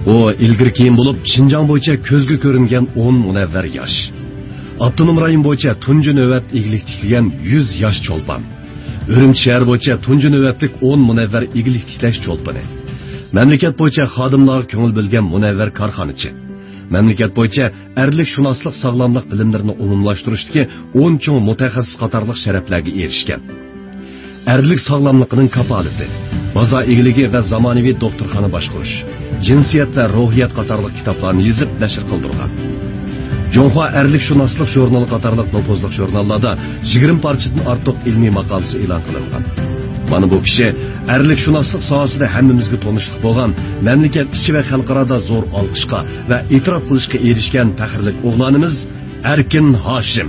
O ilgir keyin bo'lib Şinjan bo'yicha ko'zga ko'ringan 10 munavvar yosh. Abdunum rayon bo'yicha tunji navbat eglik tiklagan 100 yosh cho'lpon. Urumchi shahar bo'yicha tunji navbatlik 10 munavvar eglik tiklash cho'lponi. Mamlakat bo'yicha xodimlarga ko'ngil bilgan munavvar korxonachi. Mamlakat bo'yicha erlik shunoslik sog'lomlik bilimlarini umumlashtirishdagi 10 cho'ng mutaxassis qatorliq sharaflarga erishgan. Erlik sog'lomligining kafolati, bazo egiligi va zamonaviy doktorxona boshqarish, jinsiyat va ruhiyat qatorliq kitoblarni yozib nashr qildirgan. Jonghua erlik shunoslik jurnali qatorliq nopozliq jurnallarda 20 parchadan ortiq ilmiy maqolasi e'lon qilingan. Mana bu kishi erlik shunoslik sohasida hammamizga tanishlik bo'lgan, mamlakat ichi va xalqarada zo'r olqishga va e'tirof qilishga erishgan faxrli o'g'lonimiz Erkin Hoshim.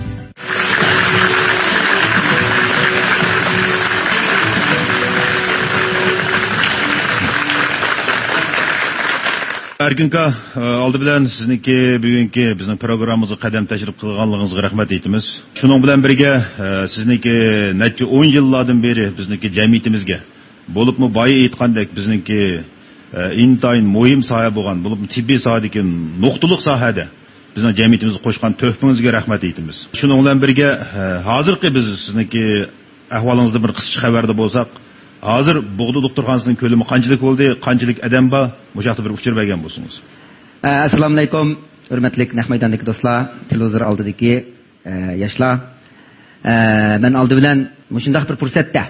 Erkinka, aldı bilan sizniki bugungi bizning programmamizga qadam tashrif qilganligingizga rahmat aytamiz. Shuning bilan birga sizniki necha 10 yillardan beri bizniki jamiyatimizga bo'libmi boya aytgandek bizniki intayin muhim soha bo'lgan, bo'lib tibbiy sohadagi nuqtaliq sohada bizning jamiyatimizga qo'shgan tuhfangizga rahmat aytamiz. Shuning bilan birga hozirgi biz sizniki ahvolingizda bir qisqa xabarda bo'lsak, hozir Bo'g'di doktorxonasining ko'lami qanchalik bo'ldi, qanchalik odam bor, bu haqda bir uchur bergan bo'lsangiz. Assalomu alaykum, hurmatli Nahmaydondagi do'stlar, televizor oldidagi yoshlar. Men oldi bilan shunday bir fursatda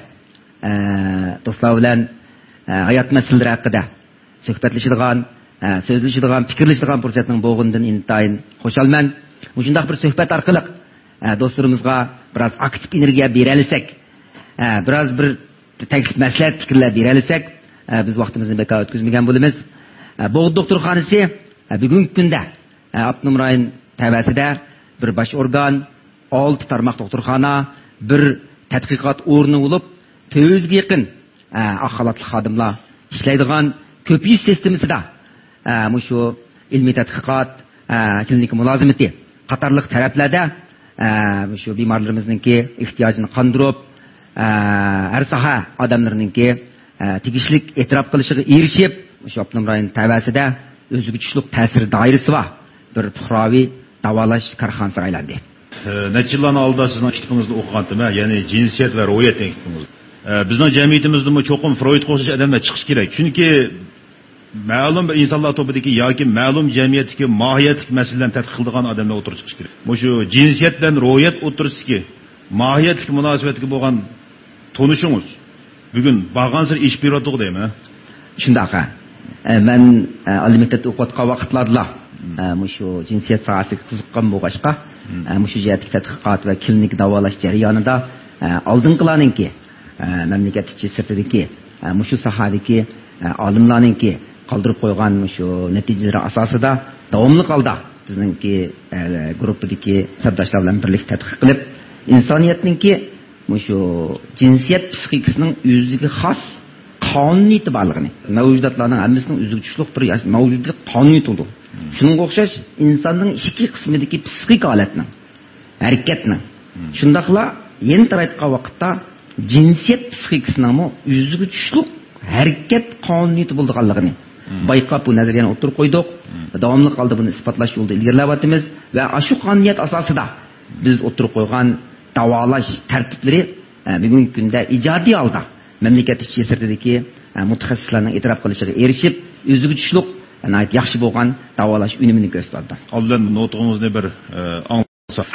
do'stlar bilan hayot masalalari haqida suhbatlashadigan, so'zlashadigan, fikrlashadigan fursatning bo'lganidan intayin xushalman. Shunday bir suhbat orqali do'stlarimizga biroz aktiv energiya bera olsak, biroz bir teklif maslahat fikrlar bera olsak, biz vaqtimizni bekor o'tkazmagan bo'lamiz. Bo'g'di doktorxonasi bugungi kunda Abdunum rayon tavasida bir bosh organ, 6 tarmoq doktorxona, bir tadqiqot o'rni bo'lib, 400 ga yaqin axlatli xodimlar ishlaydigan ko'payish sistemasida shu ilmiy tadqiqot, klinik mulozimati qatorliq taraflarda shu bemorlarimizningki ehtiyojini qondirib, her saha adamlarınki tegishlik e'tirof qilishiga erishib, shu Abdunum rayon tavasida o'ziga kuchli ta'sir doirasi va bir fuqaroviy davolash korxonasiga aylandi. Necha yillarning oldida sizning kitobingizni o'qigandim, ya'ni jinsiyat va ruhiyat degan kitobingiz. Bizning jamiyatimizda cho'qim Freudga o'xshash odamlar chiqish kerak. Chunki ma'lum bir insonlar to'pidagi yoki ma'lum jamiyatdagi mohiyatlik masalalarni tadqiq qiladigan odamlar o'tirib chiqish kerak. Shu jinsiyat bilan ruhiyat o'tirisidagi mohiyatlik munosabatga bo'lgan tonuşunuz bugün bağansır iş büroduğu değil mi? Şundaqa. Ben alimentat o'qiyotgan vaqtlarda şu cinsiyat sohasiga qiziqqan bo'lg'achqa, shu jihatdagi tadqiqot va klinik davolash jarayonida oldingilarningki mamlakat ichi sirtidagi shu sohadagi olimlarningki qoldirib qo'ygan shu natijalar asosida davomli holda bizningki gruppadagi sabdoshlar bilan birlikda tadqiq qilib, insoniyatningki shu jinsiyat psixikasining o'ziga xos qonuniyati borligini, mavjudotlarning hammasining o'ziga tushliq bir mavjudlik qonuniyati bo'ldi. Shunga o'xshash insonning ikki qismidagi psixik holatning, harakatning, shundaqla yen taraytgan vaqtda jinsiyat psixikasining o'ziga tushliq harakat qonuniyati bo'lganligini bayqab bu nazariyani o'tirib qo'ydik. Davomli holda buni isbotlash yo'lida ilgarilayapmiz va shu qonuniyat asosida biz o'tirib qo'ygan davolash tartiblari bugungi kunda ijodiy holda mamlakat ichi sirtidagi mutaxassislarning e'tirof qilishiga erishib, o'ziga tushliq yaxshi bo'lgan davolash unumini ko'rsatdi. Oldin nutqimizni bir anglasa.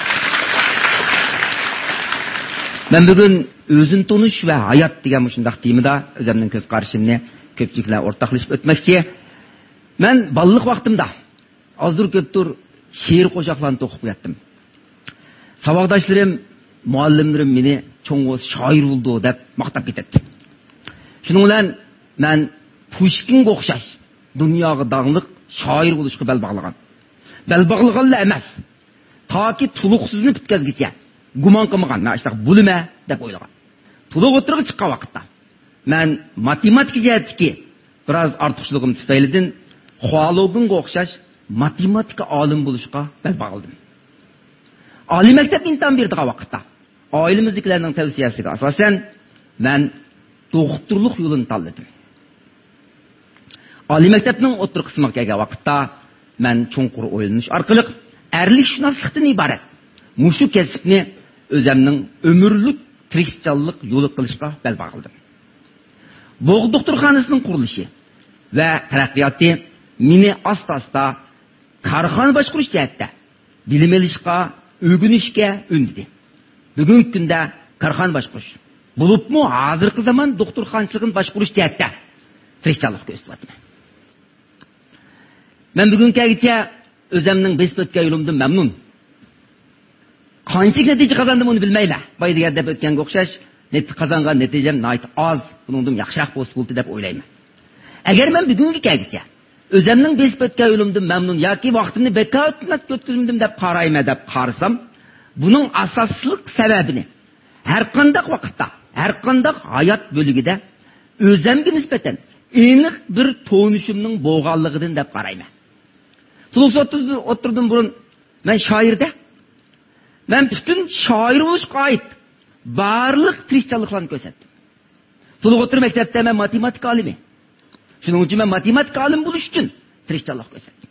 Men bugun o'zini tonish va hayot degan shunday temada o'zimning ko'z qarashimni ko'pchilik bilan o'rtoqlashib o'tmoqchi. Men balliq vaqtimda ozdir ko'pdir she'r qo'shoqlarni o'qib qo'yatdim. Savaqdoshlarim, muallimlarim meni cho'ng'iz shoir bo'ldi deb maqtab ketdi. Shuning bilan men Pushkinga o'xshash dunyoga dog'liq shoir bo'lishga bel bog'lagan. Bel bog'laganlar emas, toki tuluqsizni bitkazgicha gumon qilmagan, men ishta bo'lma deb o'ylagan. Tuluq o'tirib chiqqan vaqtda men matematika jihatdagi biroz ortiqchiligim tufaylidan Xolodinga o'xshash matematika olim bo'lishga bel bog'ladim. Oliy maktab imtihon berdigan vaqtda oilamizdagilarning tavsiyasiga asosan men doktorlik yo'lini tanladim. Oliy maktabning o'rta qismiga kelgan vaqtda men cho'nqur o'ylanish orqali erlik shunoslikdan iborat mushu kasbni o'zimning umrlik tirishchanlik yo'li qilishga bel bog'ladim. Bo'g' doktorxonasining qurilishi va taraqqiyoti meni asta-asta korxona boshqarish jihatda bilim olishga, o'rganishga undidi. Bugungi kunda korxona boshqarish bo'libmi hozirgi zamon doktorxonachiligini boshqarish jihatda tirishchanlik ko'rsatyapman. Men bugungacha o'zimning besib o'tgan yo'limdan mamnun. Qancha natija qozondim uni bilmayman. Boy degan deb o'tganga o'xshash, qozongan natijam nihoyat oz, buningdan yaxshiroq bo'lsa deb o'ylayman. Agar men bugungacha o'zimning besib o'tgan yo'limdan mamnun yoki vaqtimni bekor o'tkazmadim deb qarayman deb qarsam, buning asosli sababini har qanday vaqtda, har qanday hayot bo'ligida o'zimga nisbatan aniq bir tonishimning bo'lganligidan deb qarayman. O'tirdim burun men shoirda men bütün shoir bo'lishga oid barliq tirishchanliklarni ko'rsatdim. O'tir maktabda men matematika olimi. Shuning uchun men matematika olim bo'lish uchun tirishchanlik ko'rsatdim.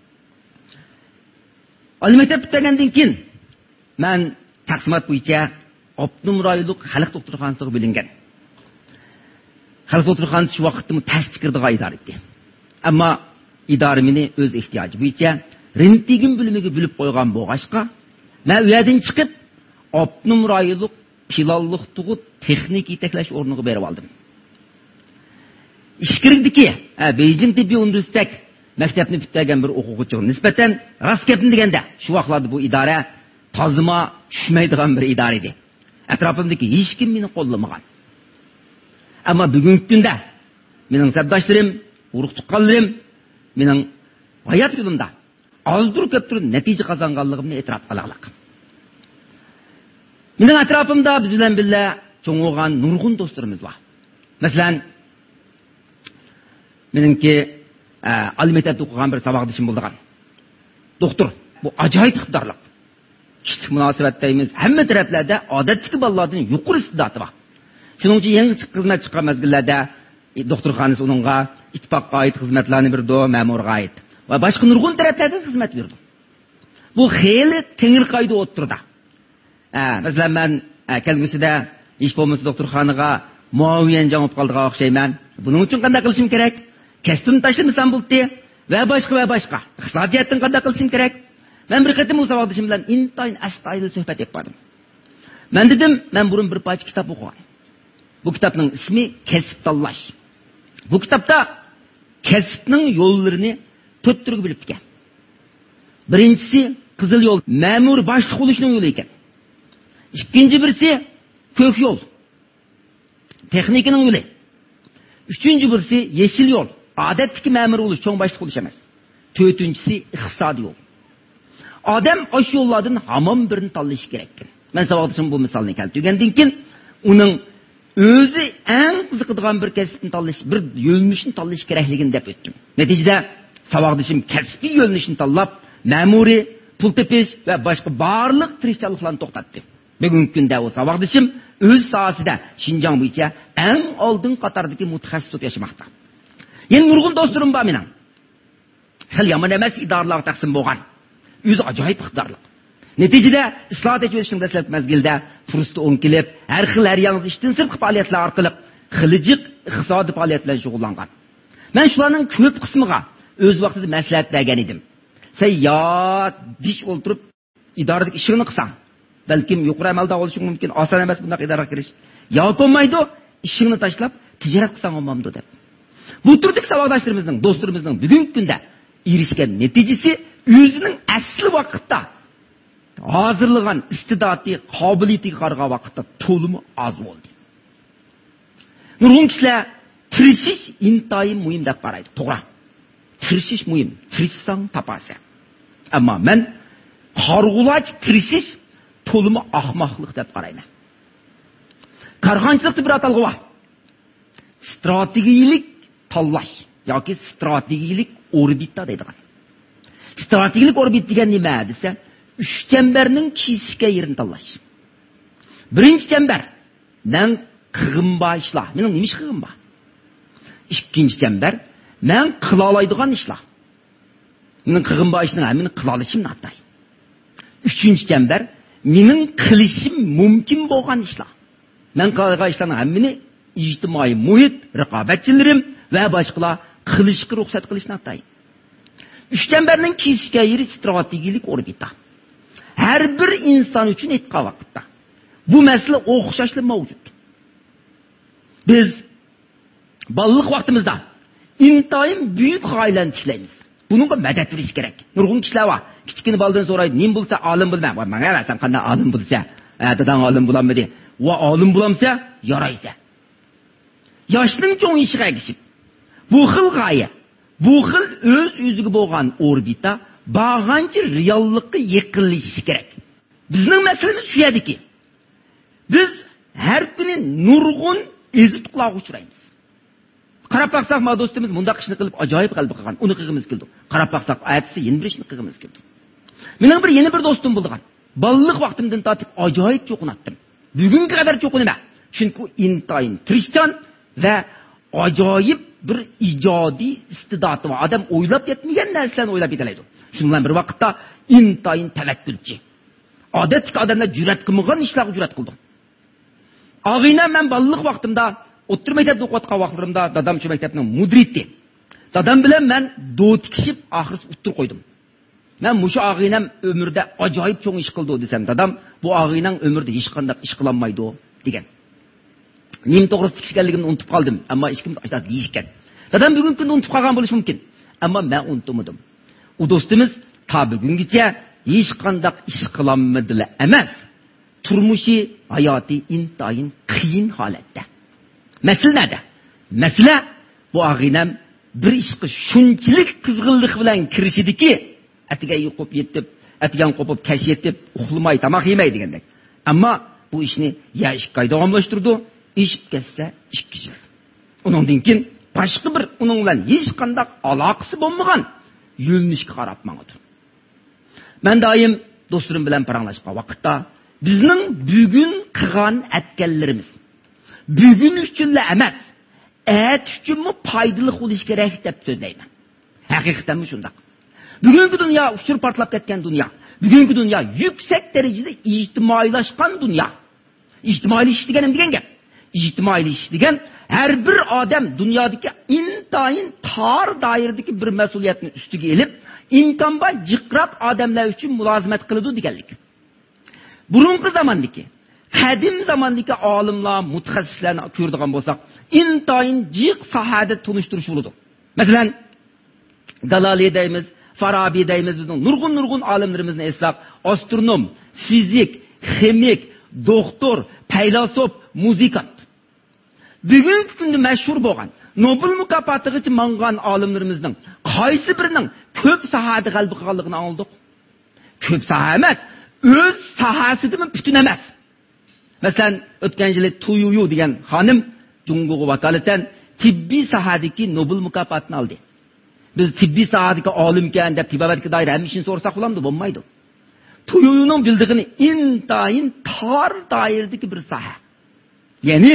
Oliy maktab bitirgandan keyin men taqsimot bo'yicha Optimum rayonlik xalq doktorxonasiga bilingan. Xalq doktorxonasi shu vaqtda tasdiqirdiga idora etdi. Ammo idora meni o'z ehtiyoji bo'yicha rentgen bo'limiga bo'lib qo'ygan bo'lg'ashqa, men u yerdan chiqib Optimum rayonlik pilonlik tug'ut texnik yetaklash o'rniga berib oldim. Ishkirdiki, Beijing tibbiy universitet maktabni bitirgan bir o'quvchiga nisbatan rost gapni deganda, shu vaqtlarda bu idora tozima tushmaydigan bir idora edi. Atrofimdagi hech kim meni qo'llamagan. Ammo bugungi kunda mening sabdoshlarim, urug' tuqqanlarim mening hayot yo'limda ozdir ko'pdir natija qozonganligimni e'tirof qilaman. Mening atrofimda biz bilan birga cho'ng'igan nurg'un do'stlarimiz bor. Masalan, meningki oliy maktabda o'qigan bir saboqdoshim bo'lgan. Doktor, bu ajoyib iqtidorli. Kichik munosabatdaymiz. Hamma taraflarda odatdagi bolalardan yuqori iste'dodi bor. Shuning uchun yangi xizmat chiqqan mezgillarda doktorxonasi uningga ittifoqqa oid xizmatlarni berdi, ma'murga oid va boshqa nurg'un taraflarda xizmat berdi. Bu xeyli tengir qoida o'tirdi. Masalan, men kelgusida ish bo'lmasa doktorxonaga muavin javob qoldiga o'xshayman. Buning uchun qanday qilishim kerak? Kasbimni tashlamasam bo'ldi va boshqa. Iqtisodiyotdan qanday qilishim kerak? Men bir qatim musobaqadashim bilan intayin astoydil suhbat etib bordim. Men dedim, men burun bir parcha kitob o'qigan. Bu kitobning ismi Kasb tanlash. Bu kitobda kasbning yo'llarini 4 turga bo'lib ketgan. Birinchisi qizil yo'l, ma'mur boshliq bo'lishning yo'li ekan. Ikkinchi birisi ko'k yo'l, texnikaning yo'li. Uchinchi birisi yeşil yo'l, odatdagi ma'mur bo'lish, cho'ng boshliq bo'lish emas. To'rtinchisi iqtisodiy yo'l. Odam o'sha yo'llardan hamon birini tanlashi kerak. Men saboqdashim bu misolni keltirgandan keyin uning o'zi eng qiziqadigan bir kasbni tanlash, bir yo'nalishni tanlash kerakligini deb o'tdim. Natijada saboqdashim kasbiy yo'nalishni tanlab, ma'muriy, pul tepish va boshqa barliq tirishchiliklarni to'xtatdi. Bugungi kunda o saboqdashim o'z sohasida Xinjiang bo'yicha eng oldin qatordagi mutaxassis bo'lib yashamoqda. Yana nurg'un do'stlarim bor mening. Xil yomon emas idoralarga taqsim bo'lgan. O'zi ajoyib iqtidorli. Natijada islohot etishning dastlabki mezgilda fursat o'nkilib, har xil yangi ishdan sirtqi faoliyatlar orqali xilijiq iqtisodiy faoliyatlar shug'ullangan. Men shularning ko'p qismiga o'z vaqtida maslahat bergan edim. Sen dish o'ltirib idoradagi ishingni qilsang, balkim yuqori amalda bo'lishi mumkin, oson emas bunday idoraga kirish. Yo'qolmaydi, ishingni tashlab tijorat qilsang olmamdi deb. Bu turdagi saboqdoshlarimizning, do'stlarimizning bugungi kunda erishgan natijasi o'zining asli vaqtda hozirlagan iste'dodiy, qobiliyatiga qaragan vaqtda to'limi oz bo'ldi. Nurg'un kishilar tirishish intayin muhim deb qaraydi. To'g'ri. Tirishish muhim. Tirishsang topasiz. Ammo men qarg'ulash tirishish to'limi ahmoqlik deb qarayman. Korxonchilikda bir atalg'i bor. Strategik tanlash yoki strategik orbita deydigan. Strategik orbit degan nima desa, 3 chambarning kesishga yerini tanlash. Birinchi chambar men qig'im bor ishlar. Mening nima ish qig'im bor? Ikkinchi chambar мен қыла алайдыған işler. Менің қығынба işinin әмін қыла алышым натай. Üçüncü çember, менің қылышым мүмкін болған işler. Мен қылға işlerin әміні ictimai muhit, rıqabetçilerim ve başkalar kılışkı ruhsat kılışına atay. Üç çemberinin kesişke yeri stratejilik orbita. Her bir insan için etki vakitte. Bu mesele okşaşlı mevcut. Biz ballık vaktimizde intayim büyük gaylen tikleyimiz. Bununla medet veriş gerek. Nurgun kişiler var. Küçükini baldan soraydı. Nim bulsa alim bulmam. Bana sen kandan alim bulsa. Dadan alim bulamedi. Ve alim bulamsa yaraysa. Yaşlının çoğun işine geçip. Bu xil gaye. Bu xil öz-özüge bolgan orbita bağançı reallıkka yekınlaşışı gerek. Bizning meselemiz şu ediki. Biz her günü nurgun ezit kulağı uçurayız. Qarab baqsaq, ma dostumuz mundaq ishni qilib ajoyib qalbi qilgan. Uni qilgimiz keldi. Qarab baqsaq, aytsa yeni bir ishni qilgimiz keldi. Mening yeni bir do'stim bo'lgan. Balliq vaqtimdan tortib ajoyib cho'qinatdim. Bugunga qadar cho'qinaman. Chunki intayin tirishchan va ajoyib bir ijodiy istidati var. Adam o'ylab yetmagan narsalarni o'ylab yetalaydi. Shuning bilan bir vaqtda intayin tavakkulchi. Odatdagi odamlar jur'at qilmagan ishlarga jur'at qildi. Og'ina men balliq vaqtimda o'ttir maktabda o'qiyotgan vaqtlarimda dadam shu maktabning mudriti. Dadam bilan men do'tikishib oxirisi o'ttir qo'ydim. Men mushu og'inam umrda ajoyib cho'ng ish qildi desam, dadam bu og'inang umrda hech qanday ish qila olmaydi degan. Nim to'g'risi tikishganligimni unutib qoldim, ammo hech kim aytadi deyishgan. Dadam bugungi kunda unutib qolgan bo'lishi mumkin, ammo men unutmadim. U do'stimiz ta bugungacha hech qanday ish qila olmadilar emas. Turmushi, hayoti intayin qiyin holatda. Mesele nerede? Mesele bu ağinem bir işe şunçilik kızgınlık bilen kirişidi ki etigen yukup yetip, etigen kopup keş yetip, uxlamay, tamak yemey degендek. Ama bu işini ya işkay davamlaştırdı, iş kesse iş kişi. Onundan keyin başka bir onun bilen hiç kandak alakası bulmagan yönünüşke qarap mağadır. Ben daim dostlarım bilen paranlaşqa vakitta bizning bugün qilgan etkenlerimiz bugün üçünle emas, et üçün mü paydalı oluş gerek dep söyleyman. Hakikaten mi şundak? Bugünkü dünya uçur partlap ketken dünya. Bugünkü dünya yüksek derecede ictimailaşkan dünya. İctimai iş degenim degen gap. İctimai iş degen her bir adam dünyadaki intayin tar dairedeki bir mesuliyetini üstüge elip imkanba jiqraq adamlar üçün mülazimet kılıdı degenlik. Burunqi zamandaki Kadim zamandaki alimlar, mutaxassislarni ko'radigan bo'lsak, intayin jiq sahada tunishtirush bo'ladi. Masalan, Galali deymiz, Farabi deymiz, bizning nurg'un olimlarimizni eslab, astronom, fizik, ximik, doktor, faylasuf, muzikant. Bugungi kunda mashhur bo'lgan, Nobel mukofotigacha mangan olimlarimizning qaysi birining ko'p sahada g'alaba qilganligini oldik? Ko'p saha emas, o'z sahasidan butun emas. Mesela ötken yılı Tuyuyu diyen hanım Cumhurbaşkanı vakaleten tibbi sahadaki Nobel mükafatını aldı. Biz tibbi sahadaki alimken de tibbaverki dair hem işini sorsak ulandı, olmaydı. Tuyuyu'nun bildiğini intayin tar dairedeki bir saha. Yani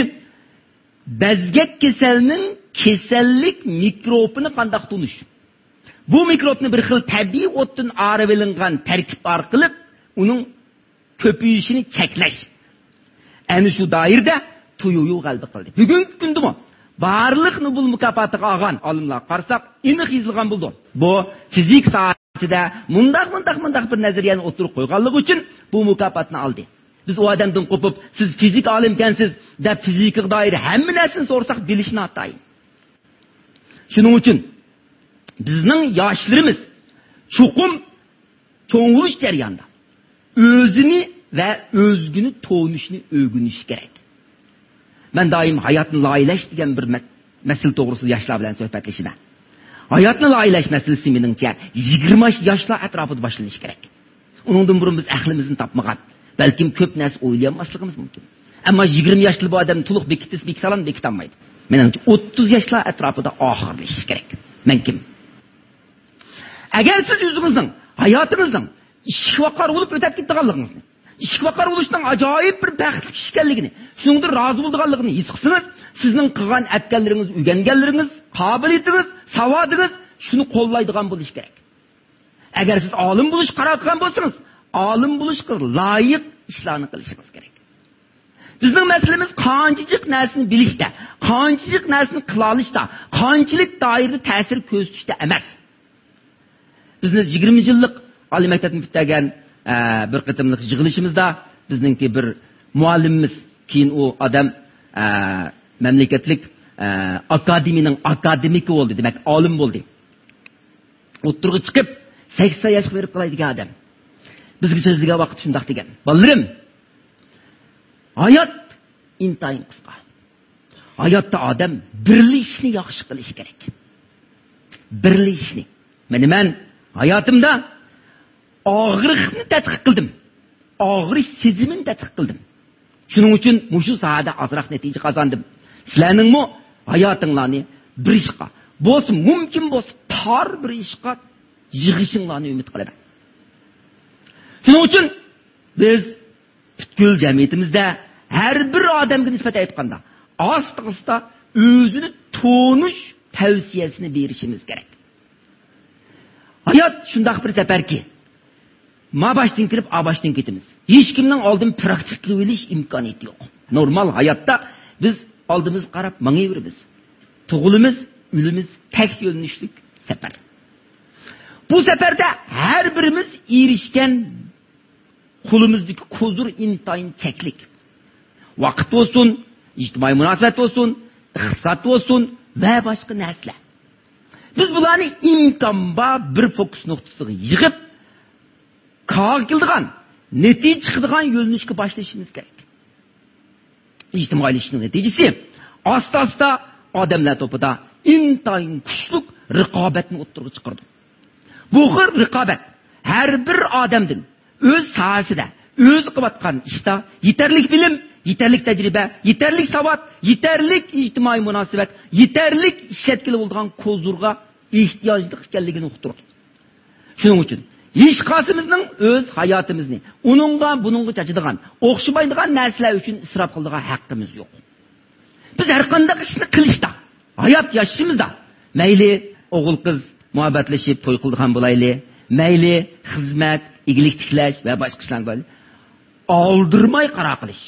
bezgek keselinin kesellik mikrobunu kandak tunuş. Bu mikrobunu bir xil tabii otun ağrıvelingan terkip arqılıp onun köpüyüşünü çekleş. Yani şu dairde Tuyuyu qalbi qildi. Bugungi kunda mı? Barliq Nobel mukofotiga olgan olimlar qarsak, aniq yozilgan bo'ldi. Bu fizik sohasida mundaq bir nazariyani o'tirib qo'yganligi uchun bu mukofotni oldi. Biz o odamdan qo'pib, siz fizik olimkansiz deb fizikga doir hamma narsani so'rsak bilishni atayın. Shuning uchun bizning yoshlarimiz chuqum cho'ng'ilish jarayonida o'zini ve özgünü toğunuşunu öğünüş gerek. Ben daim hayatını laylaş diyen bir mesele doğrusu yaşlar bilen sohbetleşime. Hayatını laylaş meselesi menimce 20 yaşlar etrafıda başlanış gerek. Onundan burun biz ahlimizin tapmagan. Belki köp narsa oylayamazlığımız mümkün. Ama 20 yaşlı bu adam tuluq bekitis beksalan bekitanmaydı. Menimce 30 yaşlar etrafıda ahırlaşış gerek. Men kim? Eğer siz yüzünüzün, hayatınızın işvakar olup ötep gittiğinliğinizin ishki vaqar bo'lishning ajoyib bir baxtli ish ekanligini, shuningda rozi bo'lganligini his qilsangiz, sizning qilgan atganlaringiz, o'rganganlaringiz, qobiliyatingiz, savodingiz shuni qo'llaydigan bo'lish kerak. Agar siz olim bo'lish qaror qilgan bo'lsangiz, olim bo'lishga loyiq ishlarni qilishingiz kerak. Bizning masalamiz qanchalik narsani bilishda, qanchalik narsani qila olishda, qanchalik doirada ta'sir ko'rsatishda emas. Bizni 20 yillik oliy maktabni bitirgan bir qitimlik yig'ilishimizda bizningki bir muallimimiz, keyin u odam mamlakatlik akademiyaning akademiki bo'ldi, demak olim bo'ldi. O'ttirga chiqib 80 yoshga berib qolaydigan odam. Bizga so'zlagan vaqt shundoq degan. Bolarim, hayot intayin qisqa. Hayotda odam birli ishni yaxshi qilish kerak. Birli ishni. Men hayotimda og'riqni tadqiq qildim. Og'riq sezimini tadqiq qildim. Shuning uchun mushu sohada ozroq natija qozondim. Sizlarning hayotinglarni bir ishqa, bo'lsa mumkin bo'lsa tor bir ishqa yig'ishinglarni umid qilaman. Shuning uchun biz butkul jamiyatimizda har bir odamga nisbatan aytganda, asta-asta o'zini to'nish tavsiyasini berishimiz kerak. Hayot shundoq bir safarki, ma boshdan kirib, a boshdan ketamiz. Hech kimning oldin praktik qilib olish imkoniyati yo'q. Normal hayotda biz oldimiz qarab mangayveramiz. Tug'ilimiz, o'limiz tek yo'nalishlik safar. Bu safarda har birimiz erishgan qo'limizdagi ko'zur intayin cheklik. Vaqt bo'lsin, ijtimoiy munosabat bo'lsin, iqtisod bo'lsin va boshqa narsalar. Biz bularni imkonba bir fokus nuqtasiga yig'ib, qildigan, natija chiqadigan yo'nalishga boshlashimiz kerak. Ijtimoiylashishning natijasi asta-asta odamlar topida intayin kuchli raqobatni o'ttirib chiqardi. Bu xil raqobat har bir odamning o'z sohasida, o'z qilayotgan ishda yetarlik bilim, yetarlik tajriba, yetarlik savod, yetarlik ijtimoiy munosabat, yetarlik ishlatkili bo'lgan ko'zurga ehtiyojli ekanligini uqtirdi. Shuning uchun hech qaysimizning o'z hayotimizni buningga chachadigan, o'xshamaydigan narsalar uchun isrof qiladigan haqqimiz yo'q. Biz har qanday ishni qilishda, hayot yashashimizda, mayli o'g'il qiz muhabbatlashib to'y qildigan bo'layli, mayli xizmat, igilik tiklash va boshqa ishlar bo'layli, oldirmay qaror qilish,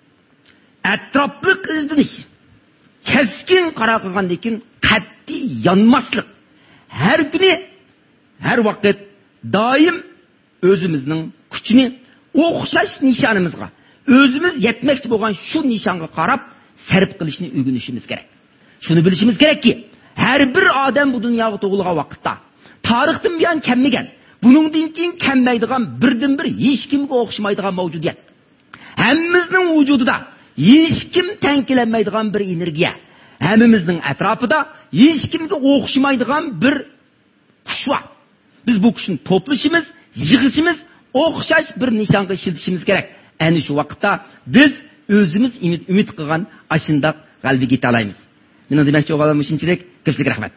atrofli izlanish, keskin qaror qilgandan keyin qat'iy yonmaslik, har kuni, har vaqt doim o'zimizning kuchini o'xshash nishonimizga, o'zimiz yetmoqchi bo'lgan shu nishonga qarab sarf qilishni o'rganishimiz kerak. Shuni bilishimiz kerakki, har bir odam bu dunyoga tug'ilgan vaqtda tarixdan buyon kammagan, buningdan keyin kammaydigan birdan bir hech kimga o'xshamaydigan mavjudiyat. Hammamizning vujudida hech kim tankilanmaydigan bir energiya, hammamizning atrofida hech kimga o'xshamaydigan bir kuch bor. Biz bu kuchni to'plashimiz, yig'ishimiz, o'xshash bir nishonga ishlatishimiz kerak. Ana shu vaqtda biz o'zimiz umid qilgan ashundoq g'alabaga yeta olamiz. Mening demoqchi bo'lganim shunchalik. Ko'pchilik rahmat.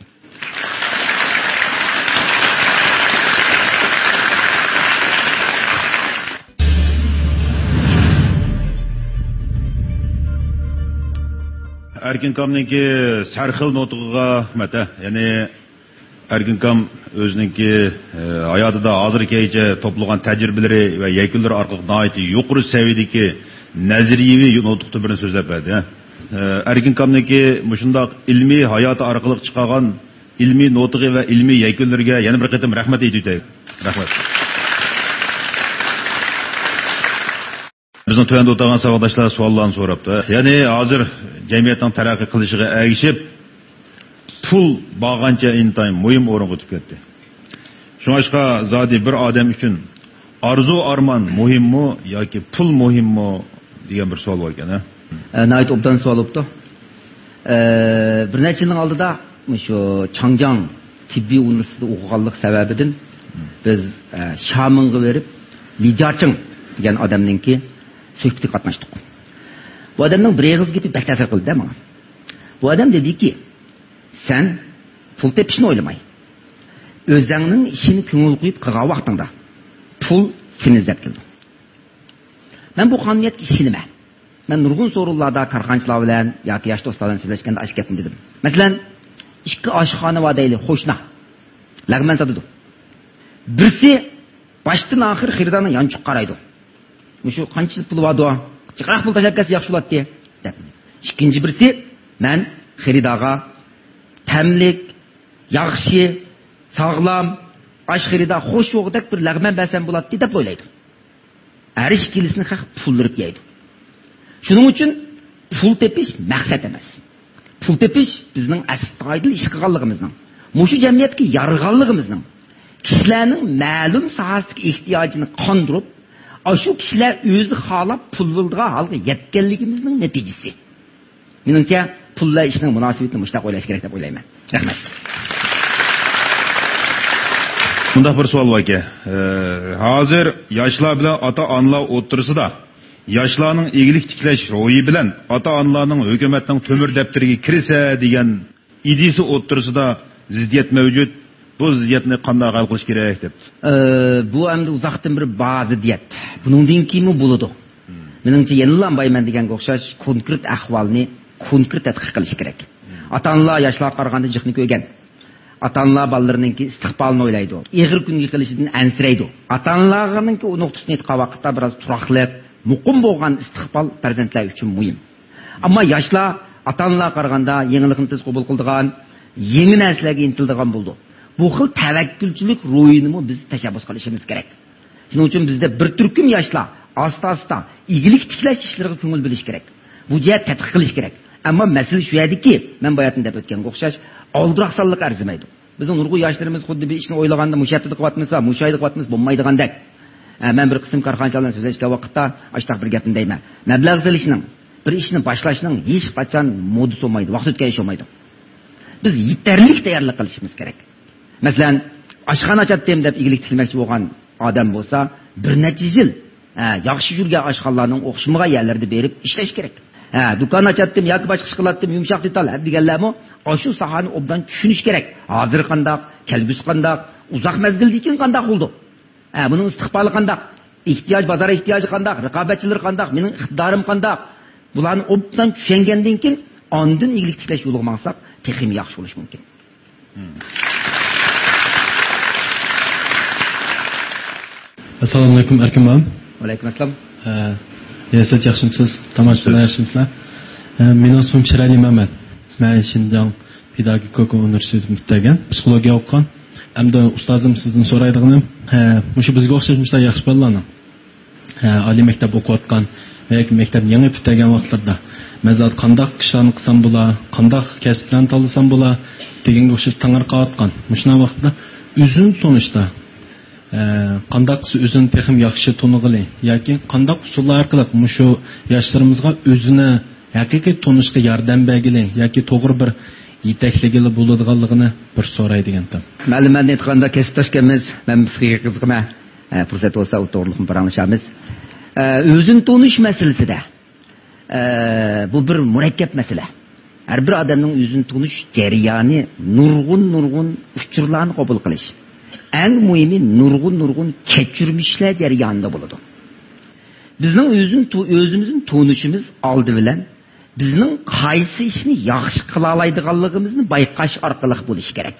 Erkinkam'nınki sarxil notuğuga mata, yani Erkinkam özününki hayatında hazırkeyce toplanan tecrübeleri ve yekünleri arkalık naiti yukarı seviyedeki naziriyevi notuqtu birini sözlep verdi. Erkinkam'nınki muşundak ilmi hayatı arkalık çıkagan ilmi notuğu ve ilmi yekünlerine yeni bir kıtım rahmet ediydi. Rahmet. Bizning tövende o'tirgan savodashlar savollarni so'rabdi. Ya'ni hozir jamiyatning taraqqiy qilishiga ergishib, pul bo'lgancha intayin muhim o'ringa o'tib ketdi. Shunga zodi bir odam uchun arzu arman muhimmi yoki pul muhimmi degan bir savol bor ekan. Nayt obdan savol bo'ldi. Bir necha yilning oldida shu Changjiang tibbiy universitetida o'qiganlik sababidan biz Shaminga berib Li Jiaqing degan odamningki söhbətə qatnaşdıq. Bu adamның bir ağız getib bək təsir qıldı da mənə. Bu adam dedi ki, sən pul tepişini oylamay. Özünün işini köngül qoyub qılğan vaxtında pul seni izlep keldi. Ben bu qonuniyatga ishonaman. Ben nurg'un so'rovlarda korxonchilar bilan yoki yosh do'stlar bilan so'zlashganda aytib ketdim dedim. Masalan, ikki oshxona bor deylik, qo'shna. Lag'man sotadi. Birisi boshdan oxir xiridarni yanchiq qaraydi. Shu qancha pul bordi? Chiqroq pul tashlab ketsa yaxshi bo'ladi deb. Ikkinchi birisi men xiridarga tamlik, yaxshi, sog'lom, osh xirida xo'sh yo'qdak bir lag'man bersam bo'ladi deb o'ylaydi. Her ikkilisini haq puldirib yeydi. Shuning uchun pul tepish maqsad emas. Pul tepish bizning astoydil ish qilganligimizning, mushu jamiyatga yarg'anligimizning, kishilarning ma'lum sohasidagi ehtiyojini qondirib, shu kishilar o'zi xohlab pul bildigan holga yetganligimizning natijasi. Menimcha pullar ishning munosabatini mushtaq o'ylash kerak deb o'ylayman. Rahmat. Bundaq bir savol var ki, hozir yoshlar bilan ota-onalar o'rtasida yoshlarning egilik tiklash ro'yi bilan ota-onalarning hukumatning temir daftariga kirsa degan ideyasi o'rtasida ziddiyat mavjud. Bu ziddiyatni qanday hal qilish kerak deb. Bu endi uzoqdan bir ba'zi ziddiyat. Buningdan keyin bo'ladi. Menimcha yenilanmayman degan o'xshash konkret ahvolni konkret tadqiq qilish kerak. Ota-onalar yoshlarga qaraganda jiqni ko'rgan. Ata-onalar ballarınınki istiqbalını o'ylaydi. Eg'ir kunga qilishidan ansiraydi. Ata-onalarninki o nuqtasini aytgan vaqtda biraz turaqlab, muqim bo'lgan istiqbol farzandlar uchun muhim. Ammo yoshlar ata-onalarga qaraganda yangilikni tez qabul qiladigan, yangi narsalarga intiladigan bo'ldi. Bu xil tavakkulchilik ro'yini biz tashabbus qilishimiz kerak. Shuning uchun bizda bir turkum yoshlar asta-asta igilik tiklash ishlariga ko'ngil bo'lish kerak. Bu jihat tadqiq qilish kerak. Ama mesele şu yerdeki, ben bayatında ötken qo'xshash, oldiraqsallik arzimaydi. Bizning nurg'un yoshlarimiz xuddi bir ishni o'ylaganda mushatida qilyapmizsa, mushaydi qilyapmiz bo'lmaydigandek. Men bir qism korxonchilar bilan so'zlashgan vaqtda ashtaq bir gapni deyman. Mablag' solishning, bir ishni boshlashning hech qachon modus bo'lmaydi, vaqt o'tkazish bo'lmaydi. Biz yetarli tayyorlik qilishimiz kerak. Masalan, oshxona ochatdim deb igilik tikilmoqchi bo'lgan odam bo'lsa, bir necha yil yaxshi yurgan oshxonalarning o'xshamagan yerlarda berib ishlash kerak. Dükkan açattım, yoki boshqa ish qilatdim, yumshoq detal deganlarmi, shu sohani obdan tushunish kerak. Hozir qanday, kelgusi qanday, uzoq mezgildan keyin qanday bo'ldi? Buning istiqboli qanday? Ehtiyoj, bozor ehtiyoji qanday? Raqobatchilar qanday? Mening iqtidorim qanday? Bularni obdan tushungandan keyin ondan igilik tiklash yo'liga maqsad texim yaxshi bo'lish mumkin. Assalomu alaykum Erkim. Va alaykum assalom. Siz yaxshimisiz? Tomoshabinlar yaxshimisizlar? Mening ismim Shirali Mamat. Men Shinjong pedagogika universitetida psixologiya o'qigan. Hamda ustozim sizdan so'raydig'ini, mushu bizga o'xshashlar yaxshi bolalarni oliy maktab o'qiyotgan yoki maktab yangi bitirgan vaqtlarda mazat qanday ishlarni qilsam bo'lar, qanday kasblarni tanlasam bo'lar deganga o'xshash tangarqayotgan. Mushuna vaqtda o'zini tanishda qanday o'zini texim yaxshi tanig'ili yoki qanday usullar orqali mushu yoshlarimizga o'zini haqiqiy tanishga yordam bergili yoki to'g'ri bir yetakligili bo'ladiganligini bir so'raydigan. Ma'lumotni aytganda kesibdoshimiz, men sizga qiziqman. Fursat bo'lsa o'to'g'riliqni paranglashamiz. O'zini tanish masalasida bu bir murakkab masala. Har bir odamning o'zini tanish jarayoni nurg'un uchurlarni qabul qilish. Eng muhimi nurg'un kechirmishlar jarayonida bo'ladi. Bizning o'zimizning tanishimiz oldi bilan bizning qaysi ishni yaxshi qila oladiganligimizni bayqash orqali bo'lish kerak.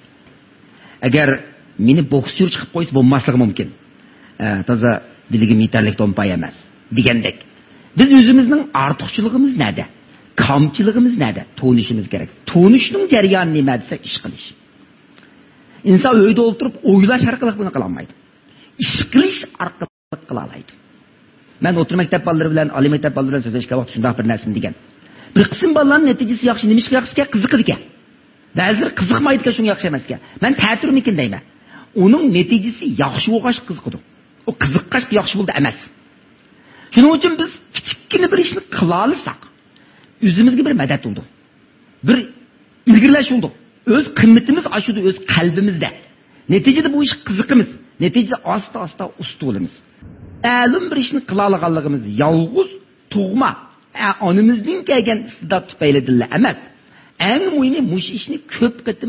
Agar meni boksyor chiqib qo'ysa bo'lmasligi mumkin. Toza biligim yetarli to'mpay emas degandek. Biz o'zimizning ortiqchiligimiz nada? Kamchiligimiz nada? Tanishimiz kerak. Tanishning jarayoni nima desa ish qilish. İnsan uyda o'tirib o'ylash orqali buni qila olmaydi. Ish qilish orqali qila oladi. Men o'rta maktab bolalari bilan oliy maktab bolalari bilan so'zlashgan vaqt shunday bir narsani degan. Bir qism bolalarning natijasi yaxshi, nima ish yaxshi ekan, qiziqadi ekan. Ba'zilar qiziqmaydi ekan, shunga yaxshi emas ekan. Men ta'tirmikin deyman. Uning natijasi yaxshi bo'lg'ash qiziqadi. O qiziqqash yaxshi bo'ldi emas. Shuning uchun biz kichikgina bir ishni qila olsak, o'zimizga bir madad bo'ldi. Bir ilgirlash bo'ldi. Öz qimmatimiz ashuda öz qalbimizda. Neticede bu ish qiziqimiz. Neticede asta usta bo'lamiz. Ma'lum bir ishni qila olganligimiz yolg'iz tug'ma, onimizning kelgan istidod tufaylidirlar emas. Eng muhimi mush ishni ko'p qatim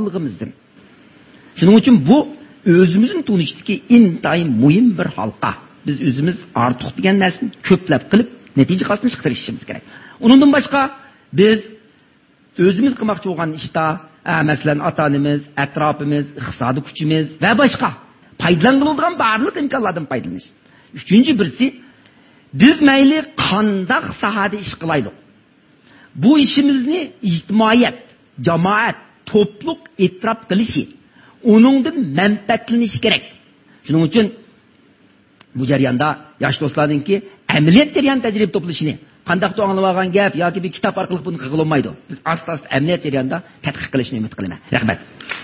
qilganligimizdir. Shuning uchun bu o'zimizning tunishdagi intayin muhim bir halqa. biz özümüz artıq degan narsani ko'plab qilib natija qilishni chiqarishimiz kerak. Undan boshqa biz özümüz qilmoqchi bo'lgan ishda, masalan, ota-onamiz, atrofimiz, iqtisodiy kuchimiz va boshqa foydalaniladigan barliq imkonlardan foydalanish. Üçüncü birisi, biz mayli qandaq sahada ish qilaylik. Bu işimizni ijtimoiyat, jamoat, to'pliq e'tirof qilishi, uningdan manfaatlanish kerak. Shuning uchun bu jarayonda yosh do'stlarningki amaliyot jarayon tajriba to'plashini, qandaq to'g'anib olgan gap yoki bir kitob orqali buni qilib olmaydi. Biz asta-asta amaliyot jarayonida tadqiq qilishni umid qilaman. Rahmat.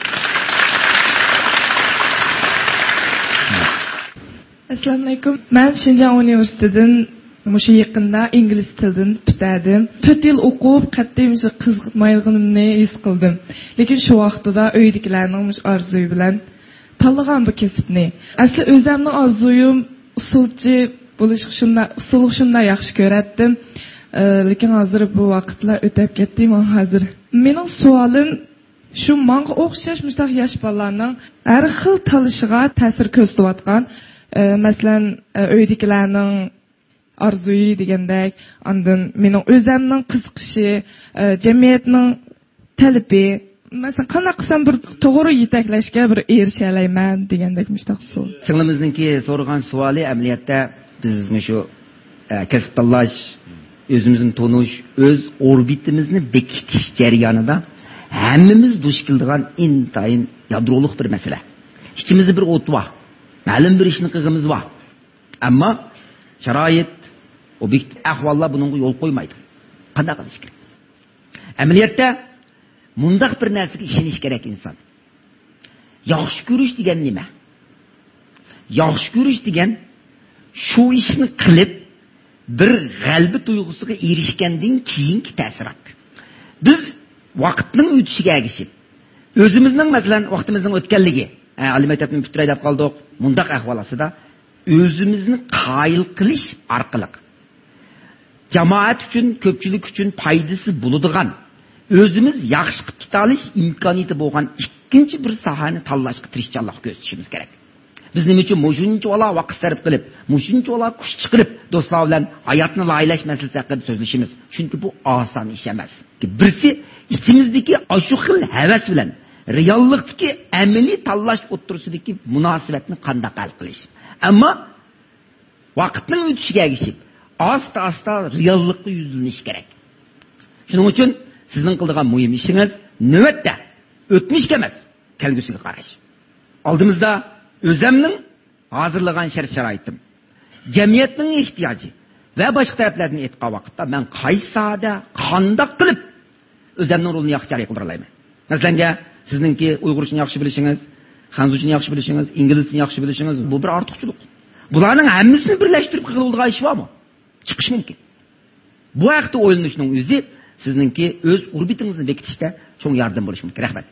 Assalomu alaykum. Men Xinjiang universitetidan mushu yaqinda ingliz tilidan bitirdim. 4 yil o'qib, qat'iy qiziqmayligimni his qildim. Lekin shu vaqtda uydagilarning orzusi bilan tanlagan bu kasbni. Asli o'zimning orzuyim usulchi bo'lish shunda yaxshi ko'ratdim. Lekin hozir bu vaqtlar o'tib ketdi. Men hozir mening savolim shu menga o'xshash mustaq yosh bolalarning har xil tanishiga ta'sir ko'rsatayotgan, masalan, uydagilarning orzuyi degandek, ondan mening o'zimning qiziqishi, jamiyatning talabi, masalan, qanday qilsam bir to'g'ri yetaklashga bir erisha olayman degandek mustaq savol. Singlimizningki so'ragan savoli amaliyotda biz shu kasb tanlash, o'zimizni tonish, o'z orbitimizni bekitish jarayonida hammamiz duch keladigan intayin yadroliq bir masala. İçimizde bir o't var. Ma'lum bir ishni qilg'imiz bor. Ammo sharoit, obyektiv ahvollar bunga yo'l qo'ymaydi. Qanday qilish kerak? Amaliyotda mundaq bir narsaga ishonish kerak inson. Yaxshi ko'rish degan nima? Yaxshi ko'rish degan shu ishni qilib bir g'albi tuyg'usiga erishgandan keyingi ta'sirot. Biz vaqtning o'tishiga ergishib, o'zimizning masalan vaqtimizning o'tganligi, oliy maktabni bitirib deb qoldik, mundaq ahvol ostida o'zimizni qoyil qilish orqali jamoat uchun, ko'pchilik uchun foydasi bo'ladigan, o'zimiz yaxshi qilib keta olish imkoniyati bo'lgan ikkinchi bir sohani tanlashga tirishchanlik ko'rsatishimiz kerak. Biz nima uchun shuncha ola vaqt sarf qilib, shuncha ola kuch chiqarib do'stlar bilan hayotni loyilash masalasi haqida so'zlashimiz? Chunki bu oson ish emas. Birisi ichimizdagi shu xil havas bilan reallikdagi amaliy tanlash o'tirisidagi munosabatni qanday hal qilish. Ammo vaqtning o'tishiga ergishib, asta-asta reallikka yuzlanish kerak. Shuning uchun sizning qiladigan muhim ishingiz navbatda o'tmishga emas, kelgusiga qarash. Oldimizda o'zimning hozirlagan shart-sharoitim, jamiyatning ehtiyoji va boshqa taraflardan aytgan vaqtda men qaysi sohada qanday qilib o'zimning rolini yaxshi ijro qila olaman. Masalan, sizningki uyg'urchani yaxshi bilishingiz, xanzuchani yaxshi bilishingiz, inglizchani yaxshi bilishingiz bu bir ortiqchilik. Bularning hammasini birlashtirib qiladigan ish bormi? Chiqish mumkin. Bu haqda o'ylanishning o'zi sizningki o'z orbitingizni bekitishda cho'ng yordam bo'lishi mumkin. Rahmat.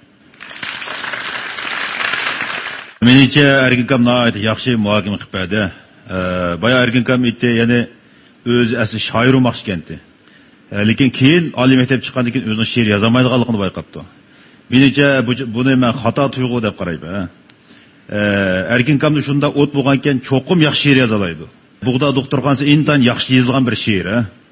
Menimcha Erkin nihoyat yaxshi muhokama qilib berdi. Boya Erkin aytdi, ya'ni o'zi asli shoir bo'lmoqchi endi. Lekin keyin oliy maktab chiqqandan keyin o'zining she'r yozamaydiganligini bayqabdi. Menimcha buni men xato tuyg'u deb qarayman. Erkin shunda o't bo'lgan ekan, cho'qim yaxshi she'r yoza oladi. Bug'da doktorxonasi intan yaxshi yozilgan bir she'r.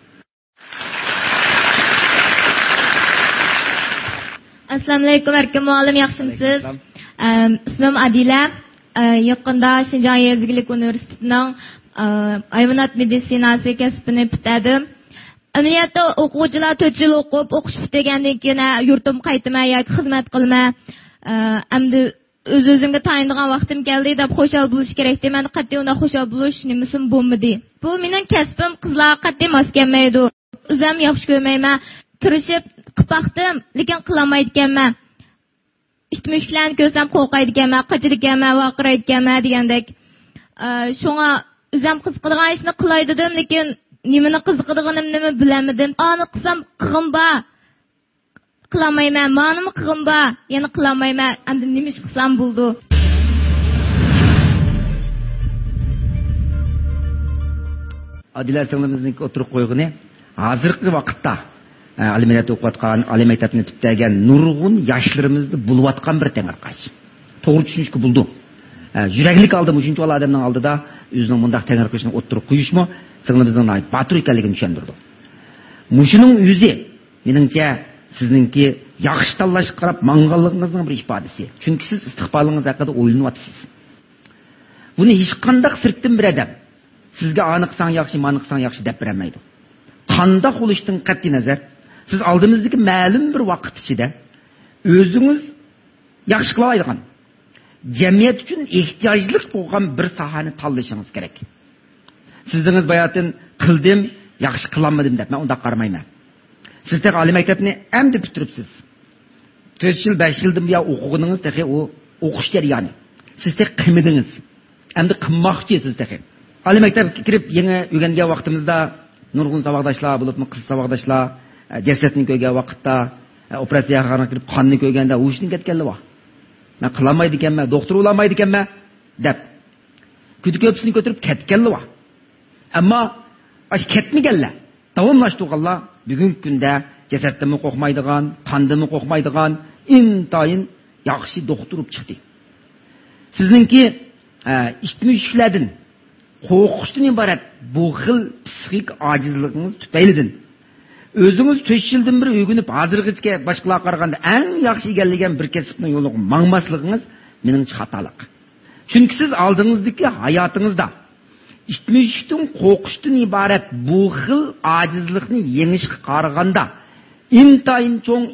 Assalomu alaykum Erkin muallim, yaxshimisiz? İsmim Adila. Yaqında Şinjan Yezgilik Üniversitesining hayvonot meditsinasi kasbini bitirdim. Amaliyotda o'quvchilar 4 yil o'qib, o'qish bitirgandan keyin yurtim qaytmay yoki xizmat qilmay, endi o'z-o'zimga tayinlagan vaqtim keldi deb xushal bo'lish kerak. Men qat'iy unda xushal bo'lish nimasim bo'lmadi. Bu mening kasbim, qizlar qat'iy mos kelmaydi. O'zim yaxshi ko'rmayman. Tirishib qilpaqdim, lekin qilolmaydiganman. İştmişlerini görsem qo'rqaydiganman, qachirganman, vaqiraydiganman degandek. Shunga o'zim qiziqadigan ishni qilay dedim, lekin nimani qiziqadiganimni bilamadim. Ani qilsam qilg'im bor. Qilolmayman, menimi qilg'im bor, yana qilolmayman. Endi nima ish qilsam bo'ldi? Adila singlimizning o'tirib qo'yg'ini hozirgi vaqtda aliminat o'qiyotgan, oliy maktabni bitirgan nurg'un yoshlarimizni bulvatgan bir temirqash. To'g'ri tushunishga bo'ldi. Yüreklik aldı müşünçü ol adamның алдыда өзінің мұндақ тәңір көшіне отырып қойышмы, сіңліміздің батыр екенлігін түсіндірді. Мушының өзі, меніңше, сізніңке яқшы таллашып қарап маңғаллығыңыздың бір ifadesi. Çünkü siz istiqbalыңыз haqida o'ylanib atsız. Buni hech qandaq sirtdan bir adam sizga aniqsan yaxshi, maniqsan yaxshi deb bermaydi. Qandaq bo'lishdan qat'iy nazar, siz oldimizdagi ma'lum bir vaqt ichida o'zingiz yaxshi qila oladigan, jamiyat uchun ehtiyojli bo'lgan bir sohani tanlashingiz kerak. Sizdingiz bayatin qildim, yaxshi qilolmadim deb men unda qaramayman. Siz tek oliy maktabni endi bitiribsiz. 4 yil, 5 yildan buyon o'qiganingiz tek o o'qish jarayoni. Siz tek qilmadingiz. Endi qilmoqchisiz tek. Oliy maktabga kirib yangi o'rgangan vaqtimizda nurg'un saboqdoshlar bo'libmi, qiz saboqdoshlar, jasadni ko'rgan vaqtda, operatsiyaga kirib qonni ko'rganda o'shning ketganlar bor. Men qilolmaydi ekanman, doktor bo'laolmaydi ekanman deb. Ko'psini ko'tarib ketganlar bor. Ammo ash ketmaganlar, davomlashtirganlar bugungi kunda jasaddan qo'rqmaydigan, qondan qo'rqmaydigan intayin yaxshi doktor bo'lib chiqdi. Sizningki ishtimishlardan qo'rqishdan iborat bu xil psixik ojizligingiz tufaylidan o'zingiz 4 yildan bir o'rganib hozirgacha boshqalarga qaraganda eng yaxshi egallagan bir kasbning yo'liga mangmasligingiz meningcha xatolik. Chunki siz oldingizdagi hayotingizda ishtimishdan qo'rqishdan iborat bu xil ojizlikni yengishga qaraganda intayin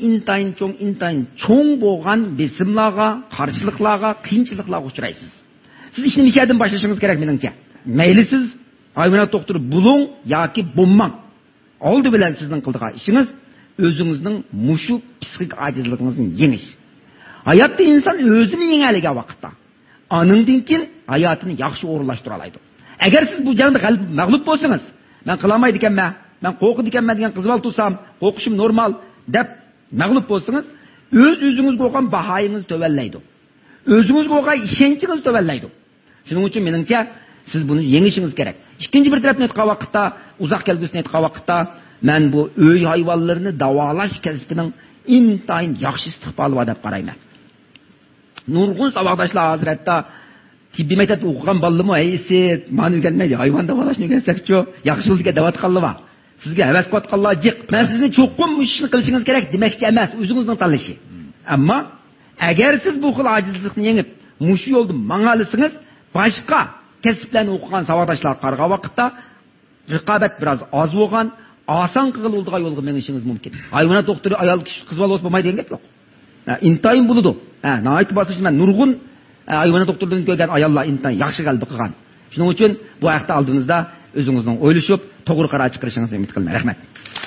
cho'ng bo'lgan besimlarga, qarshiliklarga, qiyinchiliklarga uchraysiz. Siz ishni mishadan boshlashingiz kerak meningcha. Mayli siz hayvonot doktori bo'ling yoki bo'lmang. Oldi bilan sizning qildigan ishingiz o'zingizning mushu psixik ojizligingizni yengish. Hayotda inson o'zini yengaligan vaqtda aningdan keyin hayotini yaxshi o'rinlashtira oladi. Agar siz bu jangda mag'lub bo'lsangiz, men qilolmaydi ekanman, men qo'rqidi ekanman degan qizval tursam, qo'rqishim normal deb mag'lub bo'lsangiz, o'zingizga bo'lgan bahoyingiz to'vallaydi. O'zingizga bo'lgan ishonchingiz to'vallaydi. Shuning uchun meningcha siz buni yengishingiz kerak. İkinci bir tarafdan aytgan vaqtda, uzoq kelgusini aytgan vaqtda, men bu uy hayvonlarini davolash kasbining intayin yaxshi istiqboli bor deb qarayman. Nurg'un saboqdoshlar hazratda tibbiy maktabda o'qigan bolalarmi, aysi, men o'rganmay hayvon davolashni o'rgansakchi, yaxshi yo'lga davatqanlar bor. Sizga havas qotganlar jiq. Men sizni cho'qqin ishni qilishingiz kerak demoqchi emas, o'zingizning tanlashi. Ammo agar siz bu xil ojizlikni yengib, mushu yo'lda mangalisingiz, boshqa kasblarni o'qigan saboqdoshlar qarg'a vaqtda raqobat biroz oz bo'lgan, oson qiladigan yo'lga menishingiz mumkin. Hayvonot doktori ayol kishi qiz bola bo'lmaydi degan gap yo'q. Intayin bo'ladi. Nayt bosish men nurg'un hayvonot doktoridan ko'rgan ayollar intayin yaxshi qalbi qilgan. Shuning uchun bu vaqtda oldingizda o'zingizning o'ylashib, to'g'ri qaror chiqarishingizni umid qilaman. Rahmat.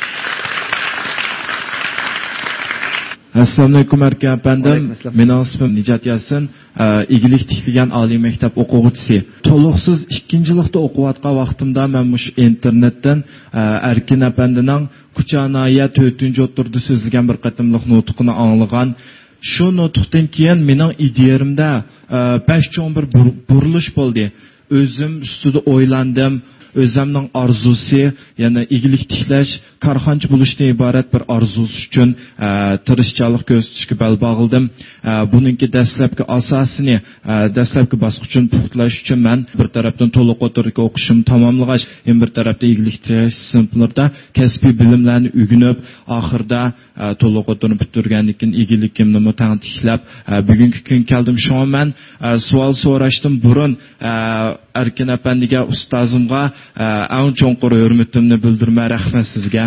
Assalomu alaykum aka apandim. Mening ismim Nijat Yasin, igilik tikilgan oliy maktab o'quvchisi. To'liqsiz 2-yilda o'qiyotgan vaqtimda men mush internetdan Erkin apandining Kuchanaya 4-o'tirda so'zlagan bir qatimliq nutqini anglagan. Shu nutqdan keyin mening ideyamda 5 cho'ng bir burilish bo'ldi. O'zim ustida o'ylandim. Özümün arzusu, yani igilik tiklash, karxanchi bo'lishdan iborat bir arzusi uchun tirishchilik ko'rsatishga bel bog'ildim. Buningki dastlabki asosini, dastlabki bosqichini puxtalash uchun men bir tarafdan to'liq o'tirib o'qishim tamomlagach, bir tarafda igilik tiklash sinflarida kasbiy bilimlarni o'rganib, oxirida to'liq o'tirib bitirgandan keyin igilikimni mutantiklab, bugungi kun keldim. Shunga men savol so'rashdan burun Erkin apandiga, ustozimga eng cho'nqur hurmatimni bildirmay rahmat sizga.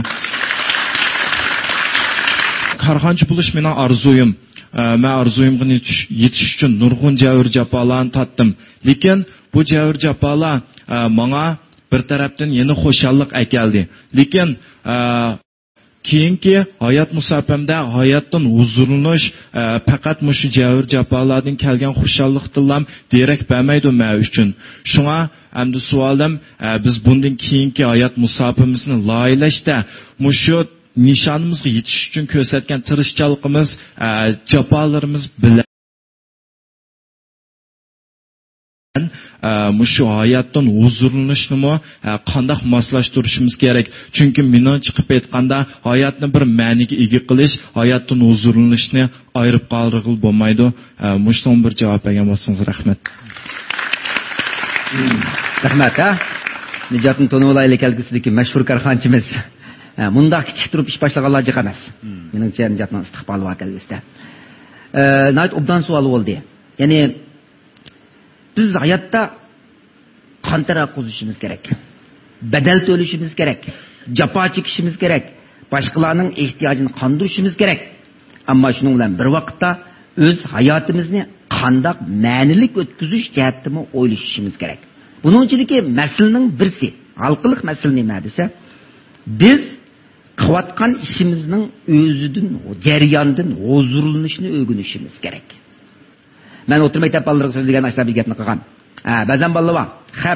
Karxanchi bo'lish mening arzuyim. Men arzuyimga yetish uchun nurg'un javr jafolarni tatdim. Lekin bu javr jafolar menga bir tarafdan yana xo'shallik akeldi. Lekin keyingi hayot musafamda hayotdan huzurlanish faqat mushu javr jafolardan kelgan xushallikdan derak bermaydi men uchun. Shunga endi savolim, biz bundan keyingi hayot musafamizni loyilashda mushu nishonimizga yetish uchun ko'rsatgan tirishchiligimiz, jafolarimiz bilan Mushu hayotdan huzurlanishni qanday moslashtirishimiz kerak? Chunki meni chiqib aytganda hayotni bir ma'niga ega qilish, hayotdan huzurlanishni ayirib qoldirib bo'lmaydi. Mushton bir javob bergan bo'lsangiz rahmat. Rahmat. Nijatni To'no'layli kelgusidagi mashhur korxonchimiz. Munda kichik turib ish boshlaganlar jiq emas. Meningcha Nijatning istiqboli bor kelgusida. Nayt obdan savol bo'ldi. Ya'ni biz hayotda qantara qo'zishimiz kerak. Badal to'lashimiz kerak. Jafo chekishimiz kerak. Boshqalarning ehtiyojini qondirishimiz kerak. Ammo shuning bilan bir vaqtda o'z hayotimizni qanday ma'nilik o'tkazish jihatini o'ylashimiz kerak. Buning ichidagi masalaning birsi, xalqlik masala nima desa, biz qilayotgan ishimizning o'zidan, jarayondan huzurlanishni o'rganishimiz kerak. Men o'tirib maktab bolalariga so'zlagan ashlar bir gapni qilgan. Ba'zan bolalar bor. Xap,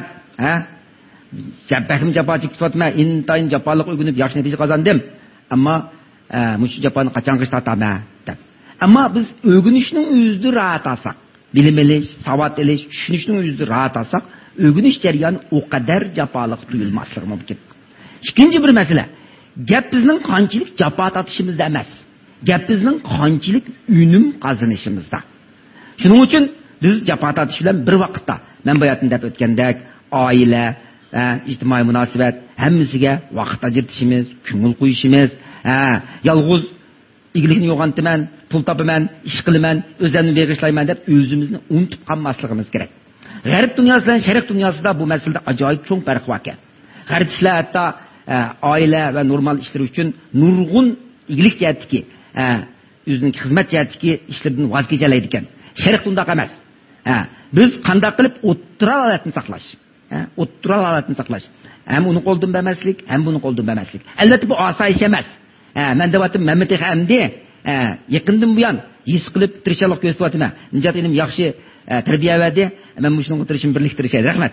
Jabbahim jafo chekib o'tma, intayin jafolik o'rganib yaxshi natija qozondim. Ammo mush jafoni qachon qish tataman deb. Ammo biz o'rganishning o'zida rahat olsak, bilim olish, savod olish, tushunishning o'zida rahat olsak, o'rganish jarayoni o qadar jafolik tuyulmasligi mumkin. Ikkinchi bir masala, gap bizning qanchalik jafo tortishimizda emas, gap bizning qanchalik unum qozonishimizda. Shuning uchun biz jafo tortish bilan bir vaqtda, men bu yerda deb o'tgandek, oila, ijtimoiy munosabat hammasiga vaqt ajratishimiz, ko'ngil qo'yishimiz, yolg'iz iglikni yo'g'ontiman, pul topaman, ish qilaman, o'zimni beg'ishlayman deb o'zimizni unutib qolmasligimiz kerak. G'arb dunyosi bilan sharq dunyosida bu masalada ajoyib cho'ng farq bor ekan. G'arbchilar hatto oila va normal ishlar uchun nurg'un iglik jihatdagi, o'zining xizmat jihatdagi ishlardan voz kechalaydi ekan. Sharq bundoq emas. Biz qanday qilib o'ttira holatni saqlash, o'ttira holatni saqlash. Ham uni qo'ldan bermaslik, ham buni qo'ldan bermaslik. Albatta bu osoyish emas. Men devatim Mehmet Hamdi yaqindan buyon his qilib tirishaloq ko'rsatyapman. Nijat elim yaxshi tarbiya berdi. Men shunga tirishim birliktirishadi. Rahmat.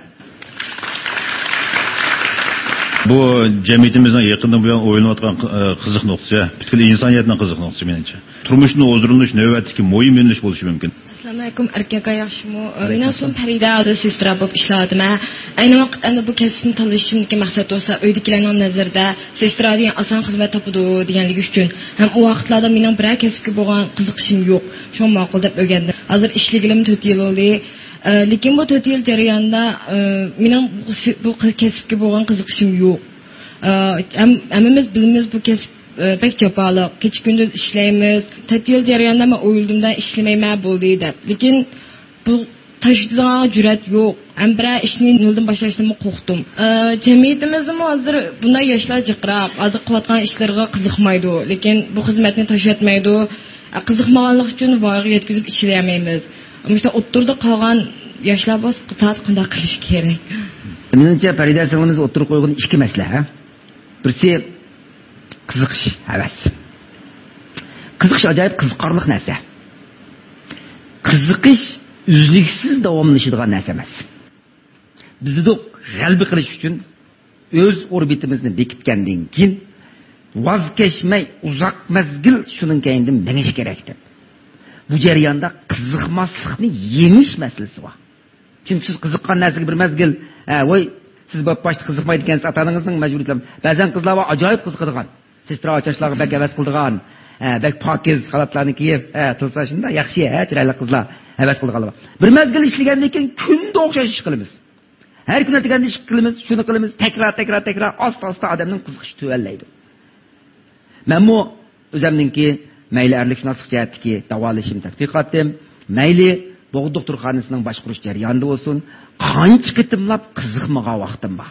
Bu cemiyetimizden yakından bu yana oynayotgan kızık noktası, bütün insaniyetinin kızık noktası menimce. Turmuşun huzurlanış, növbetdeki muhim yöneliş buluşu mümkün. Assalomu alaykum, erkak yaxshimi? Men aslim Farida sestra bo'lib ishladim. Ayni vaqtda bu kasbni tanlashimdagi maqsad bo'lsa, uydagilarning nazarida sestra degan oson xizmat topadi deganligi uchun ham u vaqtlarda mening biror kasbga bo'lgan qiziqishim yo'q. Shu ma'qul deb o'rgandim. Hozir ishligim 4 yil bo'ldi. Lekin bu 4 yil jarayonida mening bu kasbga bo'lgan qiziqishim yo'q. Hammamiz bilamiz bu kasb pek jafoliq. Kecha kunduz ishlaymiz. 4 yil jarayonida men o'yildimdan ishlamayman bo'ldi deb. Lekin bu tashviqdan jur'at yo'q. Ham bir ishni noldan boshlashdan qo'rqdim. Jamiyatimizda hozir bunday yoshlar jiqrab, hozir qilayotgan ishlarga qiziqmaydi, lekin bu xizmatni tashlatmaydi. Qiziqmaganlik uchun voyaga yetkazib ishlayolmaymiz. Ammo o'ttirda qolgan yoshlar bo'lsa qanday qilish kerak? Menimcha Farida singlimiz o'ttirib qo'ygan ikki masala. Birisi qiziqish, havas. Qiziqish ajoyib qiziqarli narsa. Qiziqish uzluksiz davomlashadigan narsa emas. Bizni g'alaba qilish uchun o'z orbitimizni bekitgandan keyin voz kechmay uzoq mazgil shuning keyindan menish kerakdi. Bu jarayonda qiziqmaslikni yengish masalasi bor. Chunki siz qiziqqan narsaga bir mazgil, voy siz boshqa qiziqmaydi ekansiz, ota-onangizning majburiyatlari. Ba'zan qizlar va ajoyib qiziqadigan, sestra ochashlarga bak havas qildigan, bak pokiz xalatlarni kiyib, tilsa shunda yaxshi, chiroyli qizlar havas qildiganlar. Bir mazgil ishlagandan keyin kunda o'xshash ish qilamiz. Har kun o'tganda ish qilamiz, shuni qilamiz, takrar, asta odamning qiziqishi tuvallaydi. Men bu o'zimningki mayli erlikshunoslik jihatdagi davolashim tadqiqotim, mayli Bo'g'd doktorxonasining boshqarish jarayonida bo'lsin, qancha qitimlab qiziqmagan vaqtim bor.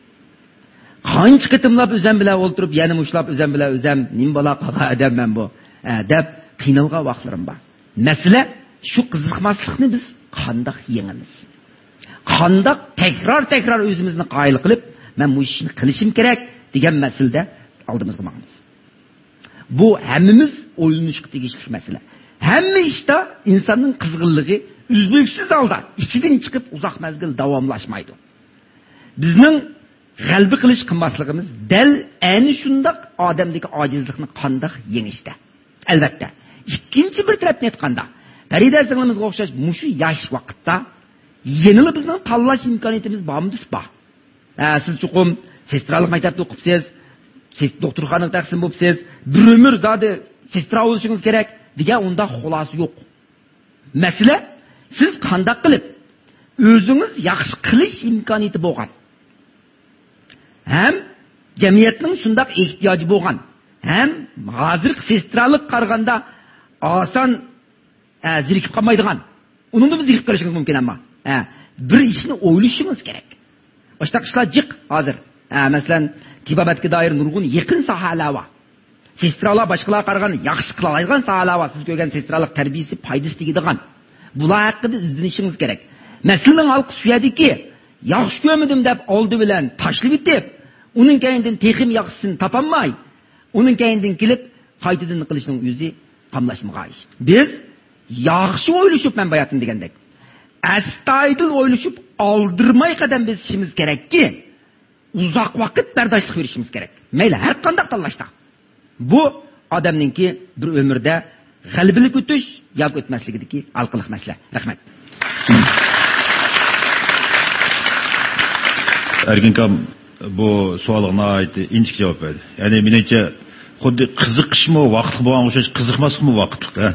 Qancha qitimlab o'zim bilan o'ltirib, yana mushlab o'zim bilan o'zim nim bola qolgan odamman bu, deb qiynalgan vaqtlarim bor. Masala shu qiziqmaslikni biz qanday yengamiz? Qanday takror o'zimizni qoyil qilib, men bu ishni qilishim kerak degan masalada oldimizga boramiz. Bu hammamiz o'ylanishga tegishli masala. Hamma ishda insonning qizg'inligi uzluksiz holda ichidan chiqib uzoq mazgil davomlashmaydi. Bizning g'alaba qilish qilmasligimiz dal ayni shundoq odamdagi ojizlikni qanday yengishda. Albatta, ikkinchi bir tarafni aytganda, Farida singlimizga o'xshash mushu yosh vaqtda Yenili bizning tanlash imkoniyatimiz bormi bor. Siz chuqum sestralik maktabda o'qibsiz, doktorxonaga taqsim bo'libsiz, bir umr zodi sestra bo'lishingiz kerak degan unda xulosa yo'q. Masala siz qanday qilib o'zingiz yaxshi qilish imkoniyati bo'lgan. Ham jamiyatning shunday ehtiyoji bo'lgan. Ham hozir sestralik qaraganda oson zirikib qolmaydigan. Uningda biz zirikib qolishingiz mumkin amma. Bir ishni o'ylashingiz kerak. Boshqa ishlar jiq hozir. Masalan, tibobatga doir nurg'un yaqin sohalar bor. Sestralar boshqalar qaraganda yaxshi qila oladigan sohalar bor. Siz ko'rgan sestralik tarbiyasi foydasi tegadigan. Bular haqida izlanishingiz kerak. Masalaning halqi suyadiki, yaxshi ko'rmadim deb oldi bilan tashlab etib, uning keyindan texim yaxshisini topolmay, uning keyindan kelib qaytadan qilishning o'zi qamlashmagan ish. Biz yaxshi o'ylashib men bayatim degandek. Astoydil o'ylashib oldirmay qadam besishimiz kerakki, uzoq vaqt bardoshlik berishimiz kerak. Mayli har qanday tanlashda. Bu odamningki bir umrda g'albilik o'tish yoki o'tmasligidagi alqiliq masala. Rahmat. Erkinkam bu savolga inchik javob berdi. Ya'ni menimcha xuddi qiziqishmi vaqt bo'lgan o'xshash qiziqmasmi vaqtda.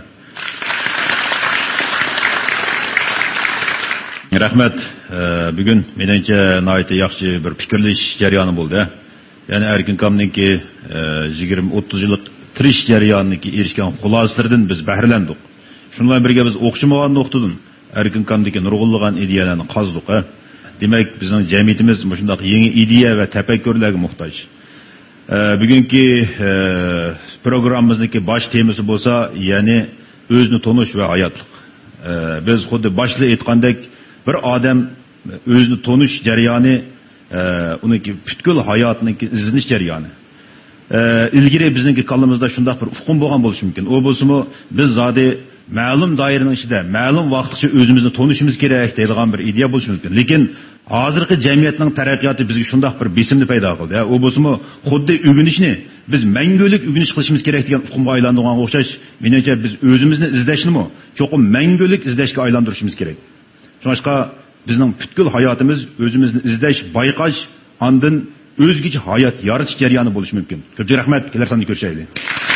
Rahmat. Bugun menimcha nihoyatda yaxshi bir fikrlash jarayoni bo'ldi. Ya'ni Erkinkamningki 20-30 yillik tirish jarayonidagi erishgan xulosalaridan biz bahralandik. Shundan birga biz o'xshamagan nuqtadan Erkinkandagi nurg'unlagan ideyalarni qazdik. Demak, bizning jamiyatimiz shunday yangi ideya va tafakkurlarga muhtoj. Bugungi programmamizdagi bosh temasi bo'lsa, ya'ni o'zni tonish va hayotlik. Biz xuddi boshda aytgandek, bir odam o'zni tonish jarayoni, uningki butkul hayotining izlanish jarayoni. İlgiri bizningki qallamizda shunday bir uqum bo'lgan bo'lishi mumkin. O bo'lsa-mu biz zodi ma'lum doiraning ichida, ma'lum vaqtgacha o'zimizni tonishimiz kerak deydigan bir ideya bo'lishi mumkin. Lekin hozirgi jamiyatning taraqqiyoti bizga shunday bir besimni paydo qildi. O bo'lsa-mu xuddi o'rganishni biz mangulik o'rganish qilishimiz kerak degan uqumga aylandigan o'xshash. Menimcha biz o'zimizni izlashnimi, cho'qim mangulik izlashga aylantirishimiz kerak. Shuningga bizning butkul hayotimiz o'zimizni izlash, bayqash, ondan o'zgacha hayot yaratish jarayoni bo'lishi mumkin. Ko'p rahmat, kelar sonni ko'rishaylik.